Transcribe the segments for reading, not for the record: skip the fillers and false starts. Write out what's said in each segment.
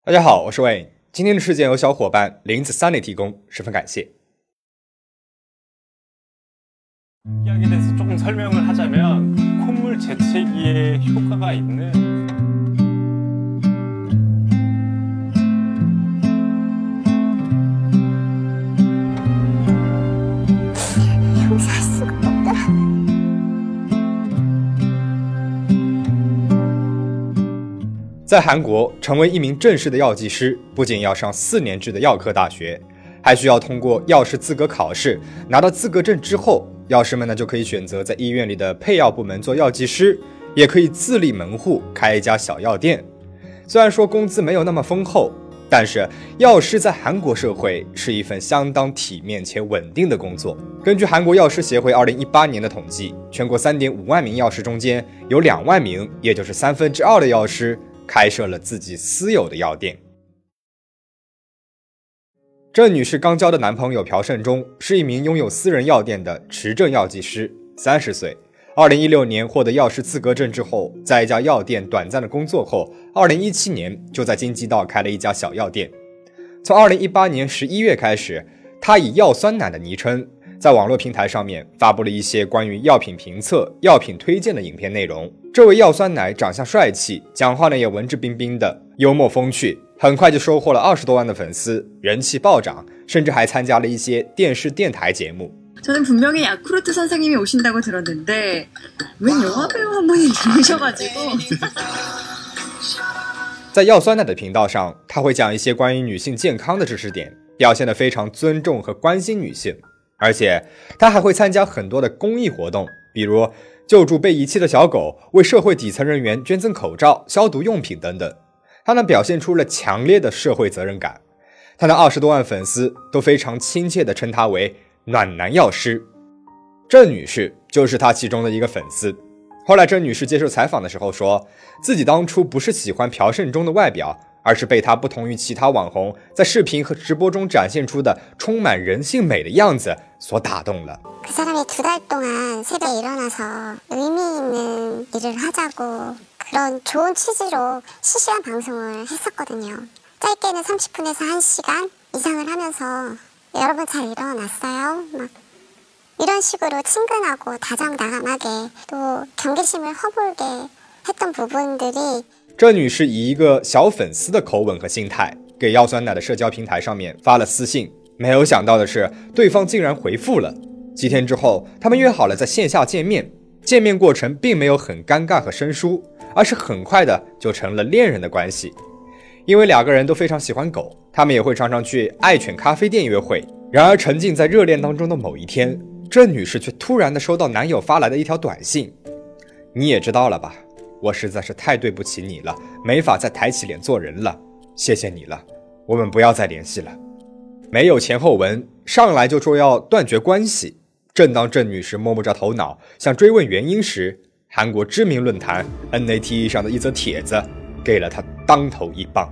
大家好，我是 Wayne。今天的事件由小伙伴林子Sunny提供，十分感谢。 이야기에 대해서 조금 설명을 하자면 콧물 재채기에 효과가 있는 용서할 수가 없더라. 在韩国，成为一名正式的药剂师，不仅要上4年制的药科大学，还需要通过药师资格考试。拿到资格证之后，药师们呢就可以选择在医院里的配药部门做药剂师，也可以自立门户开一家小药店。虽然说工资没有那么丰厚，但是药师在韩国社会是一份相当体面且稳定的工作。根据韩国药师协会2018年的统计，全国3.5万名药师中间有2万名，也就是2/3的药师开设了自己私有的药店。郑女士刚交的男朋友朴胜忠是一名拥有私人药店的持证药剂师，30岁。2016年获得药师资格证之后，在一家药店短暂的工作后，2017年就在京畿道开了一家小药店。从2018年11月开始，他以药酸奶的昵称在网络平台上面发布了一些关于药品评测、药品推荐的影片内容。这位药酸奶长相帅气，讲话呢也文质彬彬的，幽默风趣，很快就收获了20多万的粉丝，人气暴涨，甚至还参加了一些电视电台节目。 저는 분명히 야쿠르트 선생님이 오신다고 들었는데 웬 영화배우 한 분이 들으셔가지고 在药酸奶的频道上，他会讲一些关于女性健康的知识点，表现得非常尊重和关心女性。而且他还会参加很多的公益活动，比如救助被遗弃的小狗，为社会底层人员捐赠口罩、消毒用品等等。他呢表现出了强烈的社会责任感。他的20多万粉丝都非常亲切地称他为暖男药师。郑女士就是他其中的一个粉丝。后来郑女士接受采访的时候说，自己当初不是喜欢朴胜忠的外表，而是被他不同于其他网红在视频和直播中展现出的充满人性美的样子所打动了。 그 사람이 2달 동안 새벽에 일어나서 의미 있는 일을 하자고 그런 좋은 취지로 실시간 방송을 했었거든요. 짧게는 30분에서 1시간 이상을 하면서 여러분 잘 일어났어요? 막 이런 식으로 친근하고 다정다감하게 또 경계심을 허물게 했던 부분들이 郑女士以一个小粉丝的口吻和心态，给药酸奶的社交平台上面发了私信。没有想到的是，对方竟然回复了。几天之后，他们约好了在线下见面。见面过程并没有很尴尬和生疏，而是很快的就成了恋人的关系。因为2个人都非常喜欢狗，他们也会常常去爱犬咖啡店约会。然而沉浸在热恋当中的某一天，郑女士却突然的收到男友发来的一条短信：“你也知道了吧，我实在是太对不起你了，没法再抬起脸做人了，谢谢你了，我们不要再联系了。”没有前后文，上来就说要断绝关系。正当郑女士摸不着头脑，想追问原因时，韩国知名论坛 NATE 上的一则帖子给了她当头一棒。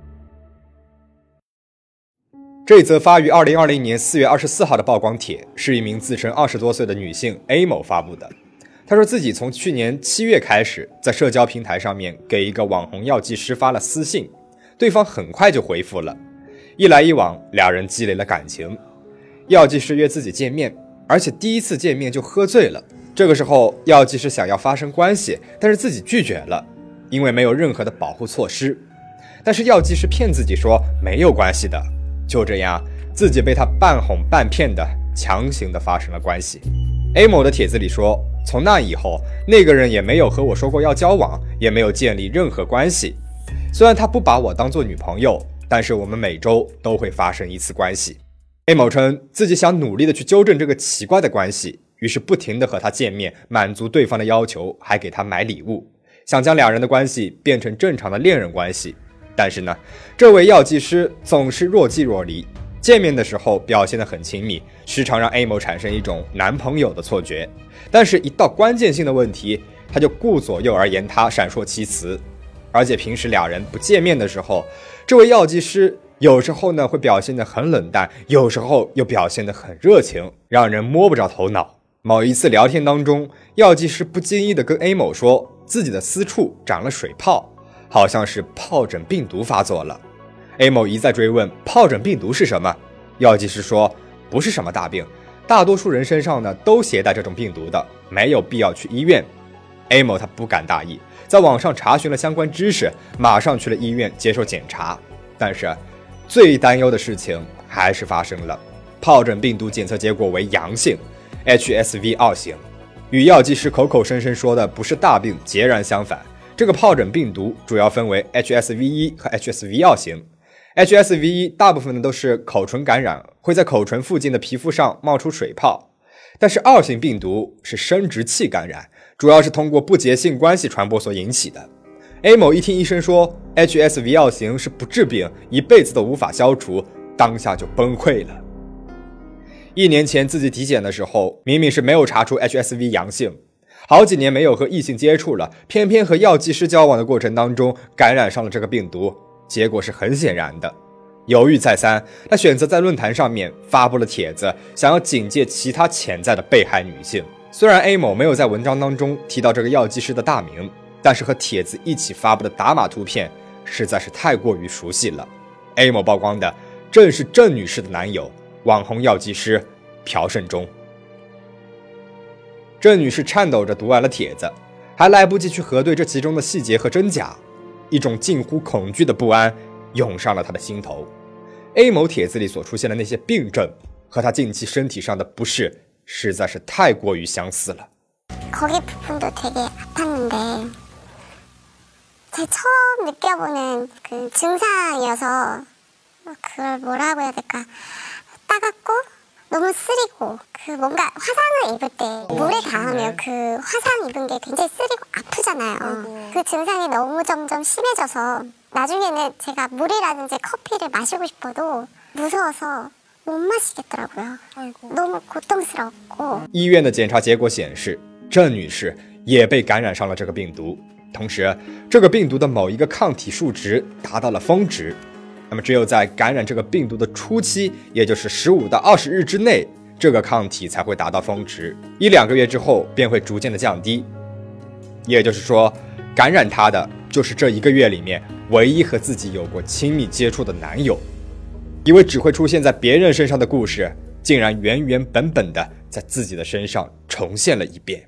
这则发于2020年4月24号的曝光帖是一名自称20多岁的女性 A 某发布的。她说自己从去年7月开始，在社交平台上面给一个网红药剂师发了私信，对方很快就回复了。一来一往，2人积累了感情。药剂师约自己见面，而且第一次见面就喝醉了。这个时候，药剂师想要发生关系，但是自己拒绝了，因为没有任何的保护措施。但是药剂师骗自己说没有关系的，就这样，自己被他半哄半骗的强行的发生了关系。A 某的帖子里说，从那以后，那个人也没有和我说过要交往，也没有建立任何关系。虽然他不把我当作女朋友，但是我们每周都会发生一次关系。A 某称自己想努力的去纠正这个奇怪的关系，于是不停的和他见面，满足对方的要求，还给他买礼物，想将2人的关系变成正常的恋人关系。但是呢，这位药剂师总是若即若离，见面的时候表现得很亲密，时常让 A 某产生一种男朋友的错觉，但是一到关键性的问题，他就顾左右而言他，闪烁其词。而且平时2人不见面的时候，这位药剂师有时候呢会表现得很冷淡，有时候又表现得很热情，让人摸不着头脑。某一次聊天当中，药剂师不经意地跟 A 某说自己的私处长了水泡，好像是疱疹病毒发作了。 A 某一再追问疱疹病毒是什么，药剂师说不是什么大病，大多数人身上呢都携带这种病毒的，没有必要去医院。A 某他不敢大意，在网上查询了相关知识，马上去了医院接受检查。但是最担忧的事情还是发生了，疱疹病毒检测结果为阳性 HSV2 型，与药剂师口口声声说的不是大病截然相反。这个疱疹病毒主要分为 HSV1 和 HSV2 型。HSV1 大部分都是口唇感染，会在口唇附近的皮肤上冒出水泡，但是2型病毒是生殖器感染，主要是通过不洁性关系传播所引起的。A 某一听医生说 HSV2 型是不治病，一辈子都无法消除，当下就崩溃了。1年前自己体检的时候，明明是没有查出 HSV 阳性，好几年没有和异性接触了，偏偏和药剂师交往的过程当中感染上了这个病毒，结果是很显然的。犹豫再三，他选择在论坛上面发布了帖子，想要警戒其他潜在的被害女性。虽然 A 某没有在文章当中提到这个药剂师的大名，但是和帖子一起发布的打码图片实在是太过于熟悉了。A 某曝光的正是郑女士的男友，网红药剂师朴胜忠。郑女士颤抖着读完了帖子，还来不及去核对这其中的细节和真假，一种近乎恐惧的不安涌上了她的心头。A 某帖子里所出现的那些病症和她近期身体上的不适实在是太过于相似了。 거기 부분도 되게 아팠는데 제가 처음 느껴보는 그 증상이어서 그걸 뭐라고 해야 될까, 따갑고 너무 쓰리고 그 뭔가 화상을 입을 때 물에 닿으면 그 화상 입은 게 굉장히 쓰리고 아프잖아요. 그 증상이 너무 점점 심해져서 나중에는 제가 물이라든지 커피를 마시고 싶어도 무서워서 못 마시겠더라고요. 너무 고통스럽고. 医院的检查结果显示，郑女士也被感染上了这个病毒，同时这个病毒的某一个抗体数值达到了峰值。那么只有在感染这个病毒的初期，也就是15到20日之内，这个抗体才会达到峰值，1-2个月之后便会逐渐的降低。也就是说，感染她的就是这1个月里面唯一和自己有过亲密接触的男友。以为只会出现在别人身上的故事，竟然原原本本的在自己的身上重现了一遍。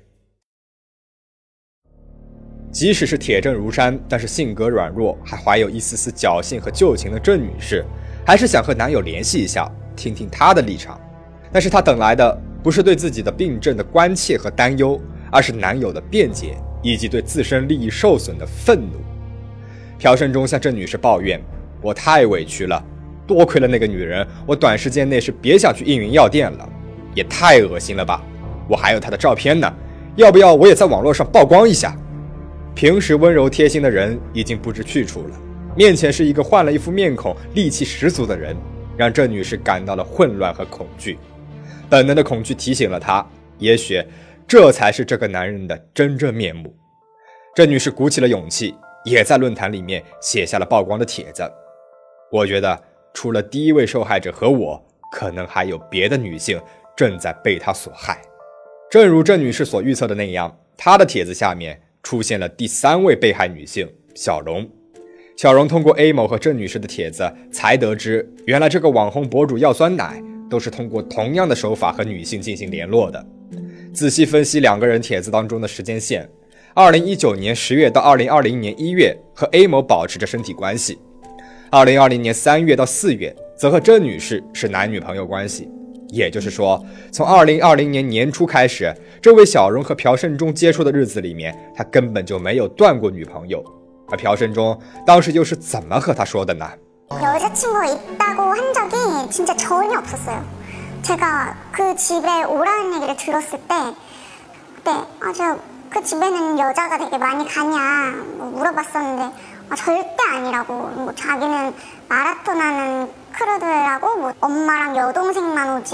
即使是铁证如山，但是性格软弱，还怀有一丝丝侥幸和旧情的郑女士，还是想和男友联系一下，听听他的立场。但是她等来的不是对自己的病症的关切和担忧，而是男友的辩解以及对自身利益受损的愤怒。朴胜忠向郑女士抱怨：“我太委屈了，多亏了那个女人，我短时间内是别想去应云药店了，也太恶心了吧！我还有她的照片呢，要不要我也在网络上曝光一下？”平时温柔贴心的人已经不知去处了，面前是一个换了一副面孔、戾气十足的人，让郑女士感到了混乱和恐惧。本能的恐惧提醒了她，也许这才是这个男人的真正面目。郑女士鼓起了勇气，也在论坛里面写下了曝光的帖子。我觉得除了第一位受害者和我，可能还有别的女性正在被他所害。正如郑女士所预测的那样，她的帖子下面出现了第3位被害女性小荣。小荣通过 A 某和郑女士的帖子才得知，原来这个网红博主药酸奶都是通过同样的手法和女性进行联络的。仔细分析2个人帖子当中的时间线，2019年10月到2020年1月和 A 某保持着身体关系，2020年3月到4月则和郑女士是男女朋友关系。也就是说，从2020年年初开始，这位小荣和朴胜忠接触的日子里面，他根本就没有断过女朋友。而朴胜忠当時又是怎么和他说的呢？ 여자친구가 있다고 한 적이 진짜 전혀 없었어요. 제가 그 집에 오라는 얘기를 들었을 때 그때 저 그 집에는 여자가 되게 많이 가냐 물어봤었는데 절대 아니라고, 뭐 자기는 마라톤 하는 크루들하고 뭐 엄마랑 여동생만 오지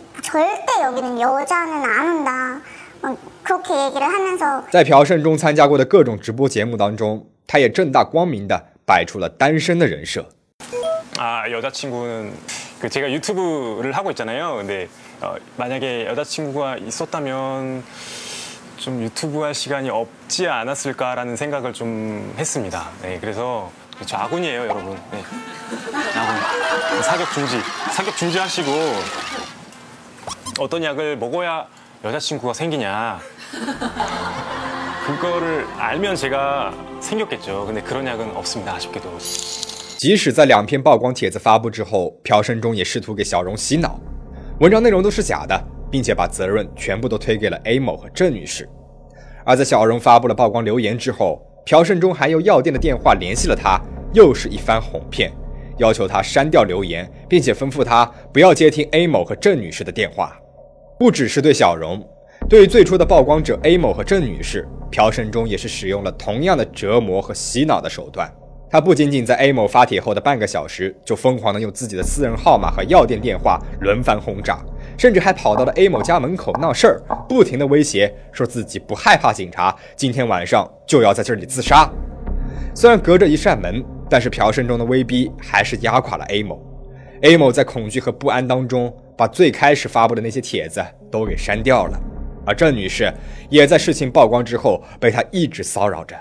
절대 여기는 여자는 안 온다, 그렇게 얘기를 하면서 在朴胜忠参加过的各种直播节目当中，他也正大光明的摆出了单身的人设。 여자친구는 제가 유튜브를 하고 있잖아요. 근데 만약에 여자친구가 있었다면 좀 유튜브 할 시간이 없지 않았을까라는 생각을 좀 했습니다. 네, 그래서 저 아군이에요, 여러분. 네. 아군. 사격 중지하시고 어떤 약을 먹어야 여자친구가 생기냐. 그거를 알면 제가 생겼겠죠. 근데 그런 약은 없습니다, 아쉽게도. 即使在2篇曝光帖子发布之后，朴胜忠也试图给小荣洗脑，文章内容都是假的，并且把责任全部都推给了 A 某和郑女士。而在小荣发布了曝光留言之后，朴胜忠还用药店的电话联系了他，又是一番哄骗，要求他删掉留言，并且吩咐他不要接听 A 某和郑女士的电话。不只是对小荣，对于最初的曝光者 A 某和郑女士，朴胜忠也是使用了同样的折磨和洗脑的手段。他不仅仅在 A 某发帖后的半个小时就疯狂地用自己的私人号码和药店电话轮番轰炸，甚至还跑到了 A 某家门口闹事儿，不停地威胁说自己不害怕警察，今天晚上就要在这里自杀。虽然隔着一扇门，但是朴胜忠的威逼还是压垮了 A 某。A 某在恐惧和不安当中，把最开始发布的那些帖子都给删掉了，而郑女士也在事情曝光之后被他一直骚扰着。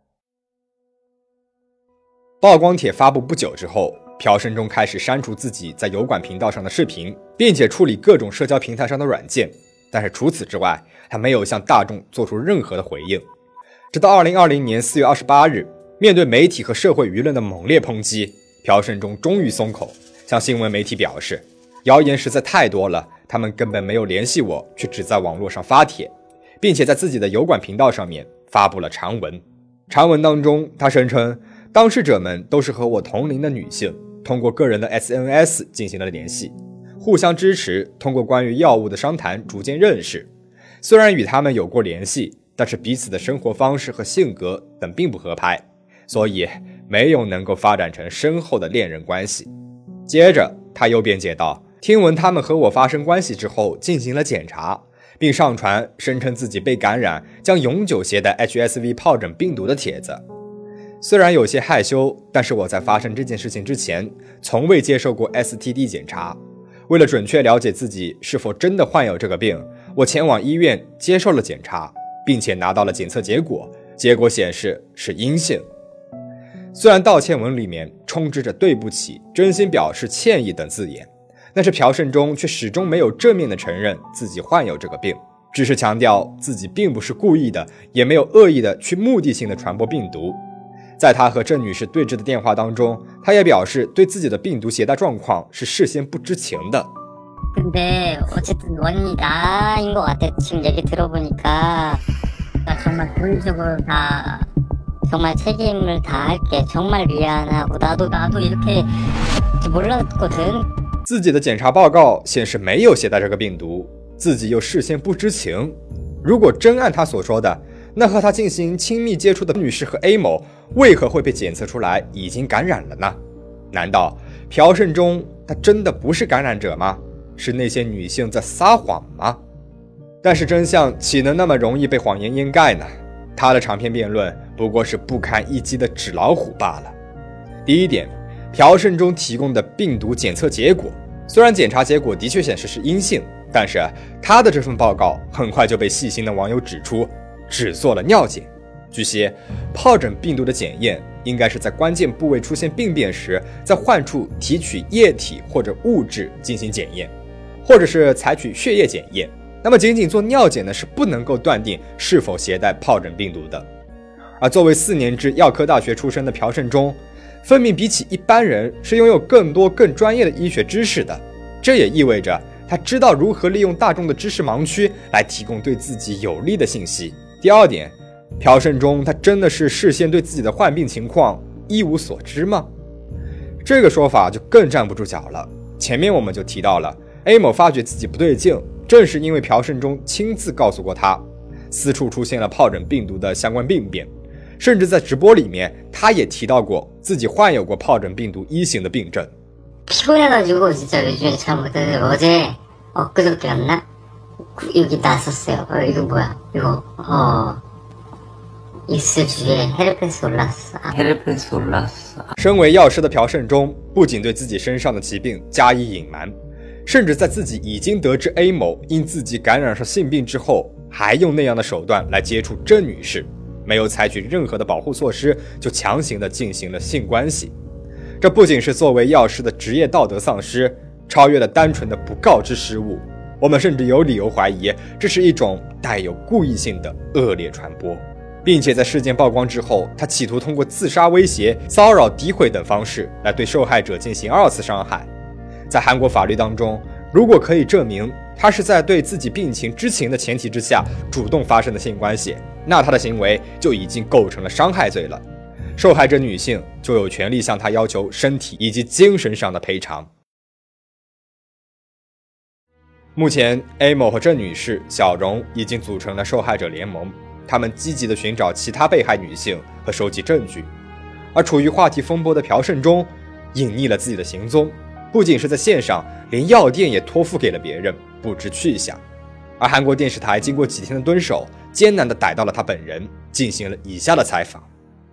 曝光帖发布不久之后，朴胜忠开始删除自己在油管频道上的视频，并且处理各种社交平台上的软件，但是除此之外，他没有向大众做出任何的回应。直到2020年4月28日，面对媒体和社会舆论的猛烈抨击，朴胜忠终于松口，向新闻媒体表示，谣言实在太多了，他们根本没有联系我，却只在网络上发帖，并且在自己的油管频道上面发布了长文。长文当中，他声称当事者们都是和我同龄的女性，通过个人的 SNS 进行了联系，互相支持，通过关于药物的商谈逐渐认识。虽然与他们有过联系，但是彼此的生活方式和性格等并不合拍，所以没有能够发展成深厚的恋人关系。接着他又辩解道，听闻他们和我发生关系之后进行了检查，并上传声称自己被感染将永久携带 HSV 疱疹病毒的帖子。虽然有些害羞，但是我在发生这件事情之前从未接受过 STD 检查。为了准确了解自己是否真的患有这个病，我前往医院接受了检查，并且拿到了检测结果，结果显示是阴性。虽然道歉文里面充斥着对不起、真心表示歉意等字眼，但是朴胜忠却始终没有正面的承认自己患有这个病，只是强调自己并不是故意的，也没有恶意的去目的性的传播病毒。在他和郑女士对峙的电话当中，他也表示对自己的病毒携带状况是事先不知情的。 근데 어쨌든 원인이 나인 것 같아. 지금 얘기 들어보니까 정말 본질적으로 다 정말 책임을 다할게. 정말 미안하고 나도 이렇게 몰랐거든. 自己的检查报告显示没有携带这个病毒，自己又事先不知情。如果真按他所说的，那和他进行亲密接触的女士和 A 某为何会被检测出来已经感染了呢？难道朴胜忠他真的不是感染者吗？是那些女性在撒谎吗？但是真相岂能那么容易被谎言掩盖呢？他的长篇辩论不过是不堪一击的纸老虎罢了。第一点，朴胜忠提供的病毒检测结果，虽然检查结果的确显示是阴性，但是他的这份报告很快就被细心的网友指出只做了尿检。据悉，疱疹病毒的检验应该是在关键部位出现病变时，在患处提取液体或者物质进行检验，或者是采取血液检验。那么仅仅做尿检呢，是不能够断定是否携带疱疹病毒的。而作为4年制药科大学出身的朴胜忠，分明比起一般人是拥有更多更专业的医学知识的，这也意味着他知道如何利用大众的知识盲区来提供对自己有利的信息。第二点，朴胜忠他真的是事先对自己的患病情况一无所知吗？这个说法就更站不住脚了。前面我们就提到了 A 某发觉自己不对劲，正是因为朴胜忠亲自告诉过他私处出现了疱疹病毒的相关病变，甚至在直播里面他也提到过自己患有过疱疹病毒1型的病症。 피곤해가지고 진짜 요즘에 잘 못하는데 어제 엊그저께였나? 여기 났었어요. 이거 뭐야? 이거 입술 주위에 헤르페스 올랐어. 身为药师的朴胜忠不仅对自己身上的疾病加以隐瞒，甚至在自己已经得知 A 某因自己感染上性病之后，还用那样的手段来接触郑女士。 没有采取任何的保护措施就强行的进行了性关系。这不仅是作为药师的职业道德丧失，超越了单纯的不告知失误，我们甚至有理由怀疑这是一种带有故意性的恶劣传播，并且在事件曝光之后，他企图通过自杀威胁、骚扰、诋毁等方式来对受害者进行2次伤害。在韩国法律当中，如果可以证明他是在对自己病情知情的前提之下主动发生的性关系，那他的行为就已经构成了伤害罪了。受害者女性就有权利向他要求身体以及精神上的赔偿。目前 A 某和郑女士、小荣已经组成了受害者联盟，他们积极地寻找其他被害女性和收集证据。而处于话题风波的朴胜忠隐匿了自己的行踪，不仅是在线上，连药店也托付给了别人，不知去向。而韩国电视台经过几天的蹲守，艰难地逮到了他本人，进行了以下的采访。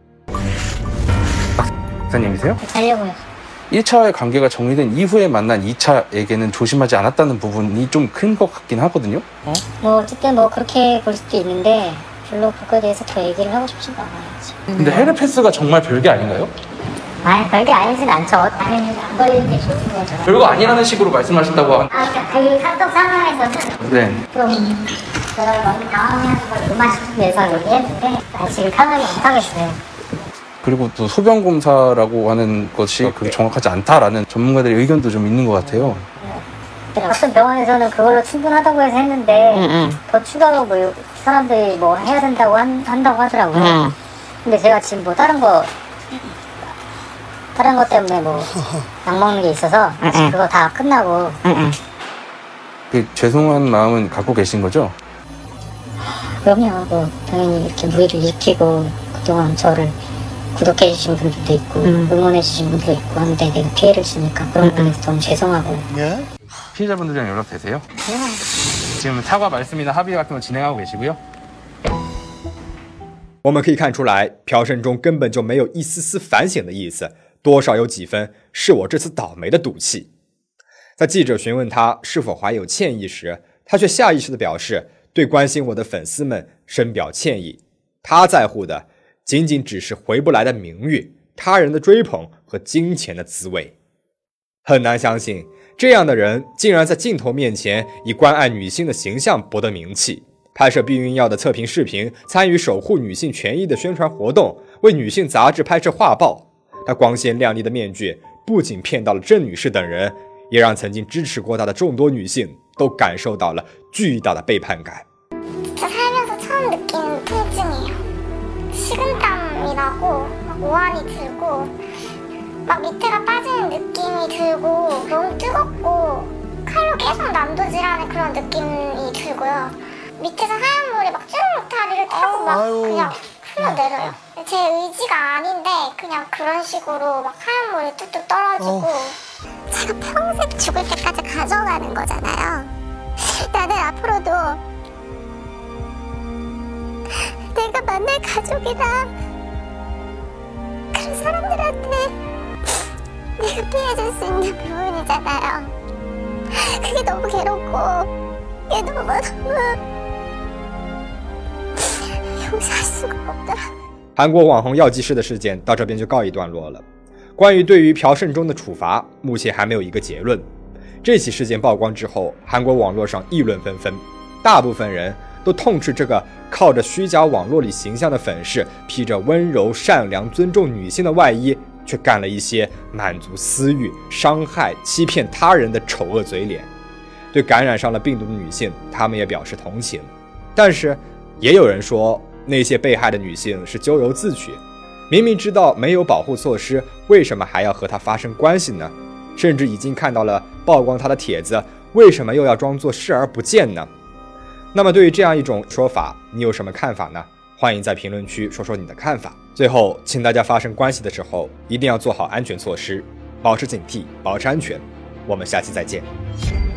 박사님이세요? 하려고요. 1차와의 관계가 정리된 이후에 만난 2차에게는 조심하지 않았다는 부분이 좀 큰 것 같긴 하거든요. 뭐 어쨌든 뭐 그렇게 볼 수도 있는데 별로 그거에 대해서 더 얘기를 하고 싶지도 않아요. 근데 헤르페스가 정말 별게 아닌가요? 아니 별게 아니진 않죠. 당연히 안 걸리는 게 좋은 거죠. 별거 아니라는 식으로 말씀하셨다고. 그러니까 그 카톡 상황에서는 네. 좀 제가 너무 당황해서 걸 무마시키기 위해서 얘기했는데 지금 편하게 못하겠어요. 그리고 또 소변 검사라고 하는 것이 그렇게 정확하지 않다라는 전문가들의 의견도 좀 있는 것 같아요. 어떤 병원에서는 그걸로 충분하다고 해서 했는데 더 추가로 뭐 사람들이 뭐 해야 된다고 한다고 하더라고요. 근데 제가 지금 뭐 다른 것 때문에 뭐 약 먹는 게 있어서 그거 다 끝나고 그 죄송한 마음은 갖고 계신 거죠? 그럼요. 뭐 당연히 이렇게 무리를 일으키고 그동안 저를 구독해주신 분들도 있고 응원해주신 분들도 있고 하는데 내가 피해를 주니까 그런 부분에서 너무 죄송하고. 피해자분들이랑 연락 되세요? 지금 사과 말씀이나 합의 같은 거 진행하고 계시고요. 我们可以看出来，朴胜忠根本就没有一丝丝反省的意思，多少有几分是我这次倒霉的赌气。在记者询问他是否怀有歉意时，他却下意识地表示对关心我的粉丝们深表歉意。他在乎的仅仅只是回不来的名誉、他人的追捧和金钱的滋味。很难相信，这样的人竟然在镜头面前以关爱女性的形象博得名气，拍摄避孕药的测评视频，参与守护女性权益的宣传活动，为女性杂志拍摄画报。他光鲜亮丽的面具不仅骗到了郑女士等人，也让曾经支持过他的众多女性都感受到了巨大的背叛感。 살면서 처음 느끼는 통증이에요. 식은땀이 나고 막 오한이 들고 막 밑에가 빠지는 느낌이 들고 너무 뜨겁고 칼로 계속 난도질하는 그런 느낌이 들고요. 밑에서 하얀 물이 막 쭈르륵 다리를 타고 막 그냥 흘러내려요. 제 의지가 아닌데 그냥 그런 식으로 막 하얀 물이 뚝뚝 떨어지고 제가 평생 죽을 때까지 가져가는 거잖아요. 나는 앞으로도 내가 만날 가족이나 그런 사람들한테 내가 피해줄 수 있는 부분이잖아요. 그게 너무 괴롭고 그게 너무 용서할 수가 없더라. 韩国网红药剂师的事件到这边就告一段落了。关于对于朴胜忠的处罚，目前还没有一个结论。这起事件曝光之后，韩国网络上议论纷纷，大部分人都痛斥这个靠着虚假网络里形象的粉饰，披着温柔、善良、尊重女性的外衣，却干了一些满足私欲、伤害、欺骗他人的丑恶嘴脸。对感染上了病毒的女性，他们也表示同情。但是，也有人说，那些被害的女性是咎由自取，明明知道没有保护措施，为什么还要和他发生关系呢？甚至已经看到了曝光他的帖子，为什么又要装作视而不见呢？那么对于这样一种说法，你有什么看法呢？欢迎在评论区说说你的看法。最后，请大家发生关系的时候一定要做好安全措施，保持警惕，保持安全。我们下期再见。